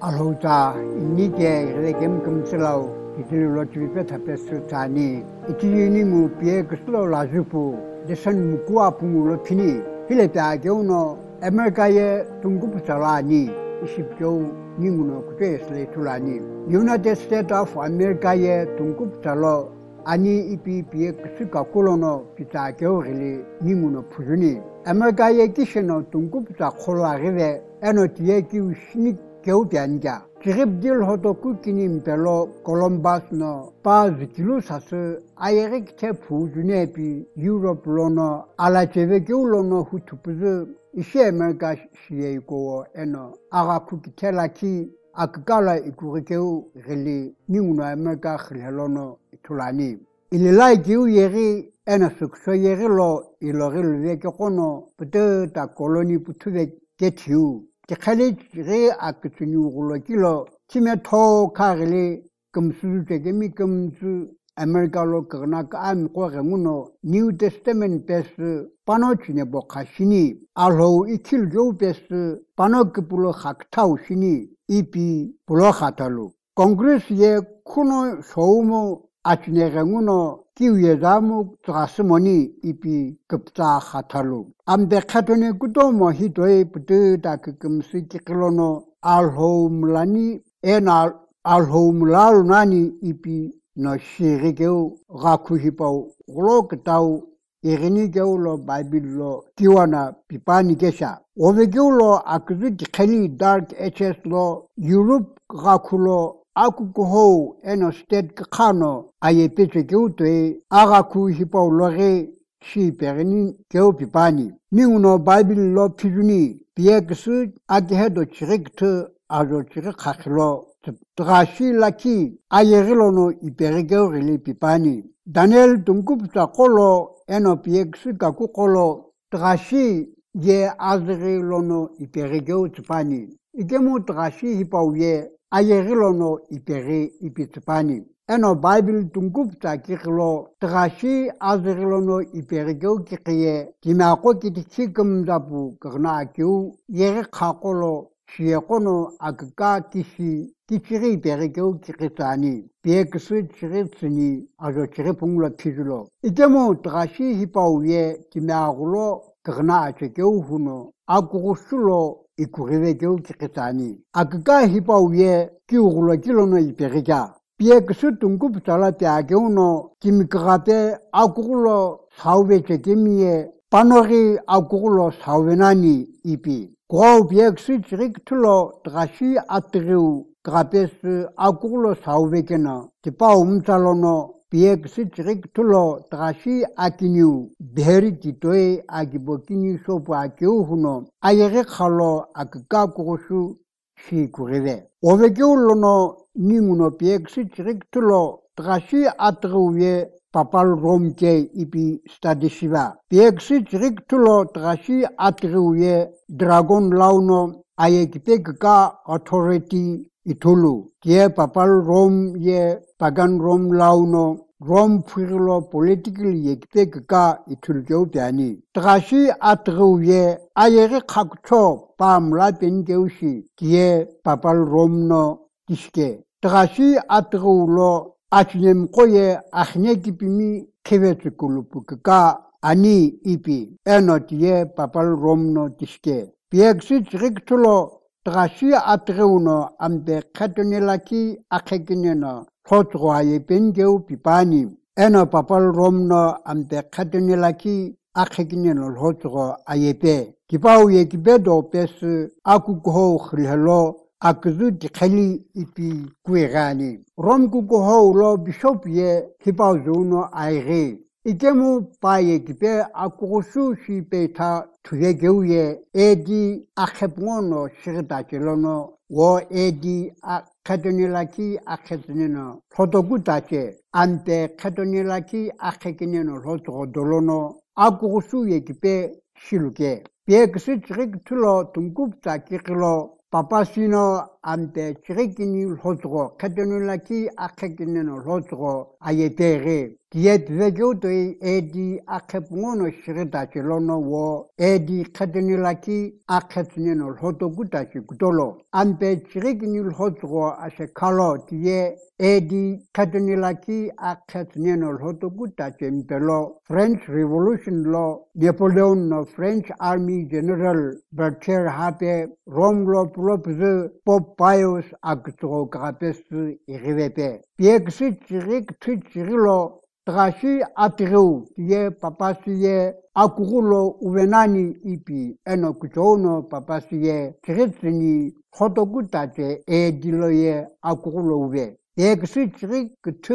알호자 이니게 레겜 금슬라우 이들로 주비페 타페스타니 이티니 무피에 그슬로 라주푸 데선 무쿠아 붕으로 피니 필레타게우노 아메리카의 둥구부살라니 20조 니무노 그때스레 tulani United States of America의 둥구부살로 아니 이피피에 그스가 콜로노 피타게오리 니무노 푸주니 아메리카의 기셔노 둥구부사 콜라리베 에노티에 기우시니 Keudianja. Kiribdil hoto kukinim pelo Columbus no pas kilusas Ayerik te fujunepi Europe lono ala cheve lono hutupuzu ishe America shiye ko eno aga kukitelaki akgala ikurikeu reli ninguno America khlelono tulani ililai kiu yeri ena sukso yeri lo iloril veke kono pute ta koloni putuve ketiu Khalid re aktsunu kilo time to karele kumsu tegemi kumsu America lo kana ka am ko remuno New Testament pes panochine bokhashini alho ikil jo pes panok pulo khaktau shini ipi pulo khatalu Congress ye kuno shoumo achne remuno kiwe zamu trasmoni ipi kupta khatalu ambe khatone kutomo hitoi putu takumsi kiklono alhomlani enal alhomlalunani ipi no shirigeu rakuhipau glokitau irinigeu lo bible kiwana pipani kesha ovegeu lo akzu dikhali dark hs lo Europe rakulo akukuho eno state kano ayepeche keutwe agaku hipau lore shi perni keu pipani ninguno bible lo pijuni pieksu agedo chirikt azo chirik khaklo trashi laki ayerilono iperigeu rili pipani Daniel tungkupta kolo eno pieksu kakukolo trashi ye azrilono iperigeu tpani igemu trashi hipau ye Ayerilono ipere ipitpani. Eno Bible tungupta kiklo trashi azerilono iperigeu kikiye timako kitikikum zapu karna akiu yere kakolo shiekono akka kisi kichiri iperigeu kikitani. Pieksu chiritsini azo chiripungla pijulo. Ikemo trashi hipauye timagulo karna achekeu huno akurusulo ikurivekeu kikitani. Akka hipauye kiugulo kilono iperika. Pieksu tunguptala tiageuno kimikarape akugulo sauveche kimie panori akugulo sauvenani ipi. Kwao pieksu chiriktulo trashi atriu krapes akugulo sauvekena. Tipa umtalono pieksu chiriktulo trashi akiniu beheri titoe agibokini sopu akiu huno ayere khalo akka kurusu shi kurive. Ovekeulono ninguno pieksu chiriktulo trashi atruye papal romke ipi stadishiva. Pieksu chiriktulo trashi atruye dragon launo ayekipeka authority itulu. Tie papal rom ye pagan rom launo rom firlo political yekipeka itulkeu piani. Trashi atruye ayere khakcho pamla penkeushi tie papal rom no Tishke. Trashi atrulo achnem koye achne kipimi kivetsukulupukaka ani ipi. Enotie papal romno tishke. Pieksu chiriktulo trashi atruno ambe katonelaki akekineno hotroye penkeu pipani. Eno papal romno ambe katonelaki akekineno hotro ayepe. Kipau ye kibedo pes akukuho khilhelo akzu dikhali ipi kuirani. Rom kukuho lo bishop ye hipau zuno aire. Ikemu paye kipe akurusu shi peta tuyegeu ye edi akhepngono shiritachelono wo edi akatonilaki akhetineno hotokutache ante katonilaki akhekineno hotokodolono akurusu ye kipe shiluke. Pieksu chiriktulo tungupta kikilo Papasino ampe chirikini lhotro katonulaki akhekineno lhotro ayetere diet vegotoi edi akhepungono shiritachi lono wo edi katonulaki akhetneno lhotogutachi kutolo ampe chirikini lhotro ashekalo die edi katonulaki akhetneno lhotogutachi mpelo French Revolution lo Napoleon no French Army General Berthier hape Romlo Propze Pop Pius Agtro Grapes Irivepe. Piexit Chirik Tichirilo Trashi Atriu Tie Papasie Akurulo Uvenani Ipi Eno Kuchono Papasie Chiritsini Hotogutache E Diloye Akurulo Uve. Piexit Chirik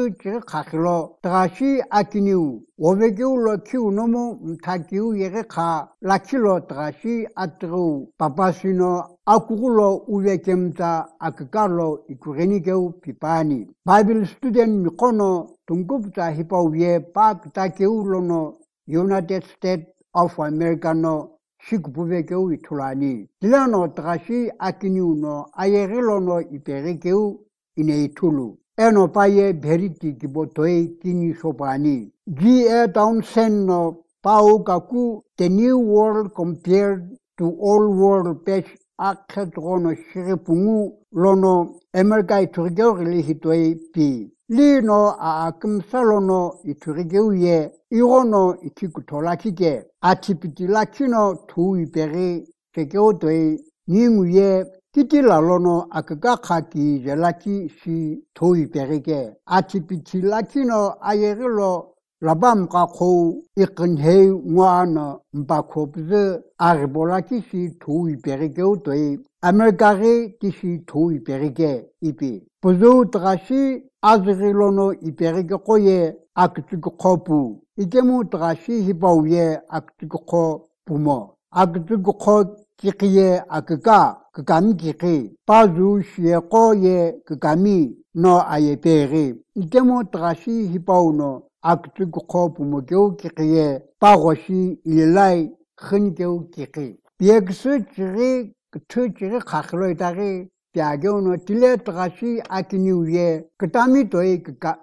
Kakilo Trashi Akiniu Ovegeulo Kiu Nomo Mtakiu Yereka Lakilo Trashi Atriu Papasino Akurulo uvekemta akakalo ikurenikeu pipani. Bible student mikono tungkupta hipauye pak takeulono United States of America no shikupuvekeu itulani. Tilano trashi akiniuno ayerilono iperekeu ineitulu. Eno paye beriti kibotoi kini sopani. G.A. Townsend no pau kaku The New World Compared to Old World Page akhetrono shiripungu lono America iturigeu hitoi pi. Lino akimsalono iturigeu ye irono itikutolakike. Atipitilakino tu iperi tekeotoi ningu ye kitila lono akakaki jelaki si tu iperike. Atipitilakino ayerilo labam kako ikinhei ngwana mbakopze aribola kisi tu iperike utoi Amerikari kisi tu iperike ipi. Puzu trashi azrilono iperike koye akitikopu. Ikemu trashi hipauye akitiko pumo. Akitiko kikiye kakami kiki. Pazu shieko ye kakami no ayepere. Ikemu trashi hipauno akitiko pumo keu kikiye pagoshi ilai khenkeu kiki. Pieksu chiri chiri kaklo itari piageuno tile trashi akiniuye katami toi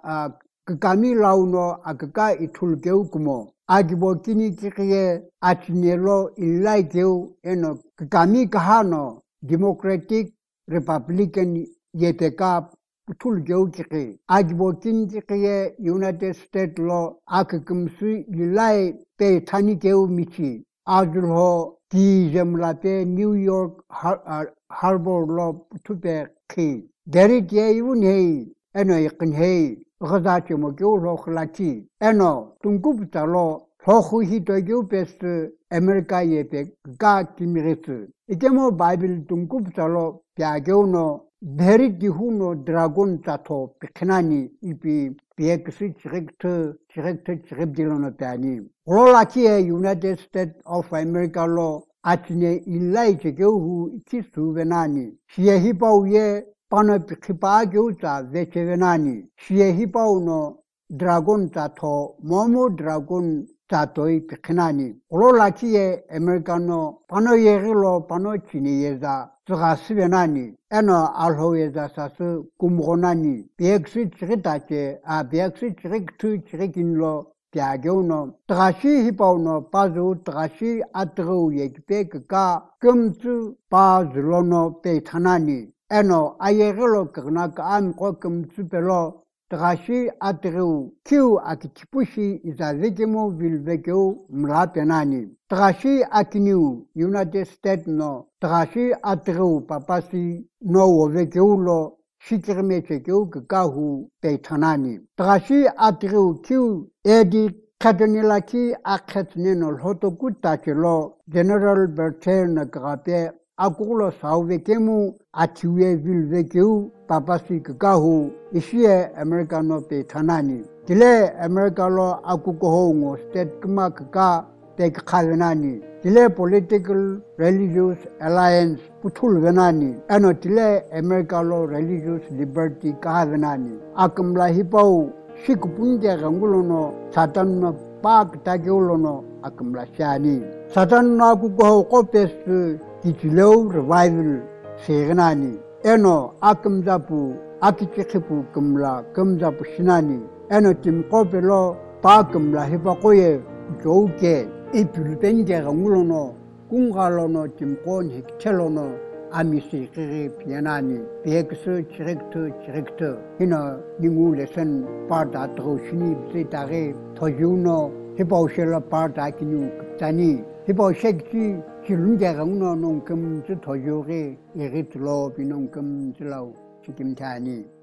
kakami launo akaka itulkeu kumo. Agibo kini kikiye achinelo ilai keu eno kakami kahano Democratic Republican yepeka tulkeu kiki. Agibo kini kikiye United States lo akakumsu ilai pe tanikeu michi. Adulho di jemlate New York Harbor lo tupe ki. Derit ye yunhei eno ikinhei ghazache mo keu lo khlaki. Eno tungkupta lo hohu hito keu pestu Amerika yepe ga kimiritsu. Ikemo Bible tungkupta lo piageu no derit dihuno dragon tato piknani ipi piekisi chiribdilono piani. Rolaki United States of America lo atine ilai chekeuhu ikisu venani. Shie hipau ye pano pikipa geuta veche venani. Shie hipau no dragon tato momo dragon tatoi piknani. Rolaki Americano pano yerilo pano chini yeza tsugasi venani. Eno alho yeza sasu kumronani. Piekisi chiritache a piekisi chiriktu chirikinlo piageuno trashi hipauno pazu trashi atru yekpe ka kumtsu pazulono pe thanani. Eno ayerilo kagnak am ko kumtsu pelo trashi atru kiu akichipushi izazekemo vilvekeu mlapenani. Trashi akiniu United States no trashi atru papasi no wovekeulo shikirmechekeu kakahu peitanani. Trashi atriu kiu edi katonilaki akhetneno lhotokutache lo General Berthier na grape akulo sauvekemu atiwe vilvekeu papasi kakahu ishie Americano peitanani. Tile America lo akukohongo state kama kaka pekhavenani. Tile political religious alliance putul venani. Eno tile America lo religious liberty kahavenani. Akamla hipau shikupunja gangulono satan no pak tagiulono akamla shani. Satan no akukoho kopes kichileu revival segenani. 에노 아금자부 아키치키부 금라 금자부 신하니 에노 팀코벨로 바금라 해바고에 좋게 이 불벤게가 물로노 궁갈로노 팀콘 헥텔로노 아미시 그게 비나니 베크스 디렉터 히나 닝울레선 파다 드로시니 비타게 토주노 해바오실라 파다 기뉴 급자니 해바오색지 기lunge가 우노 농금 저 토주게 예리틀로 비농금 질라우 지김타니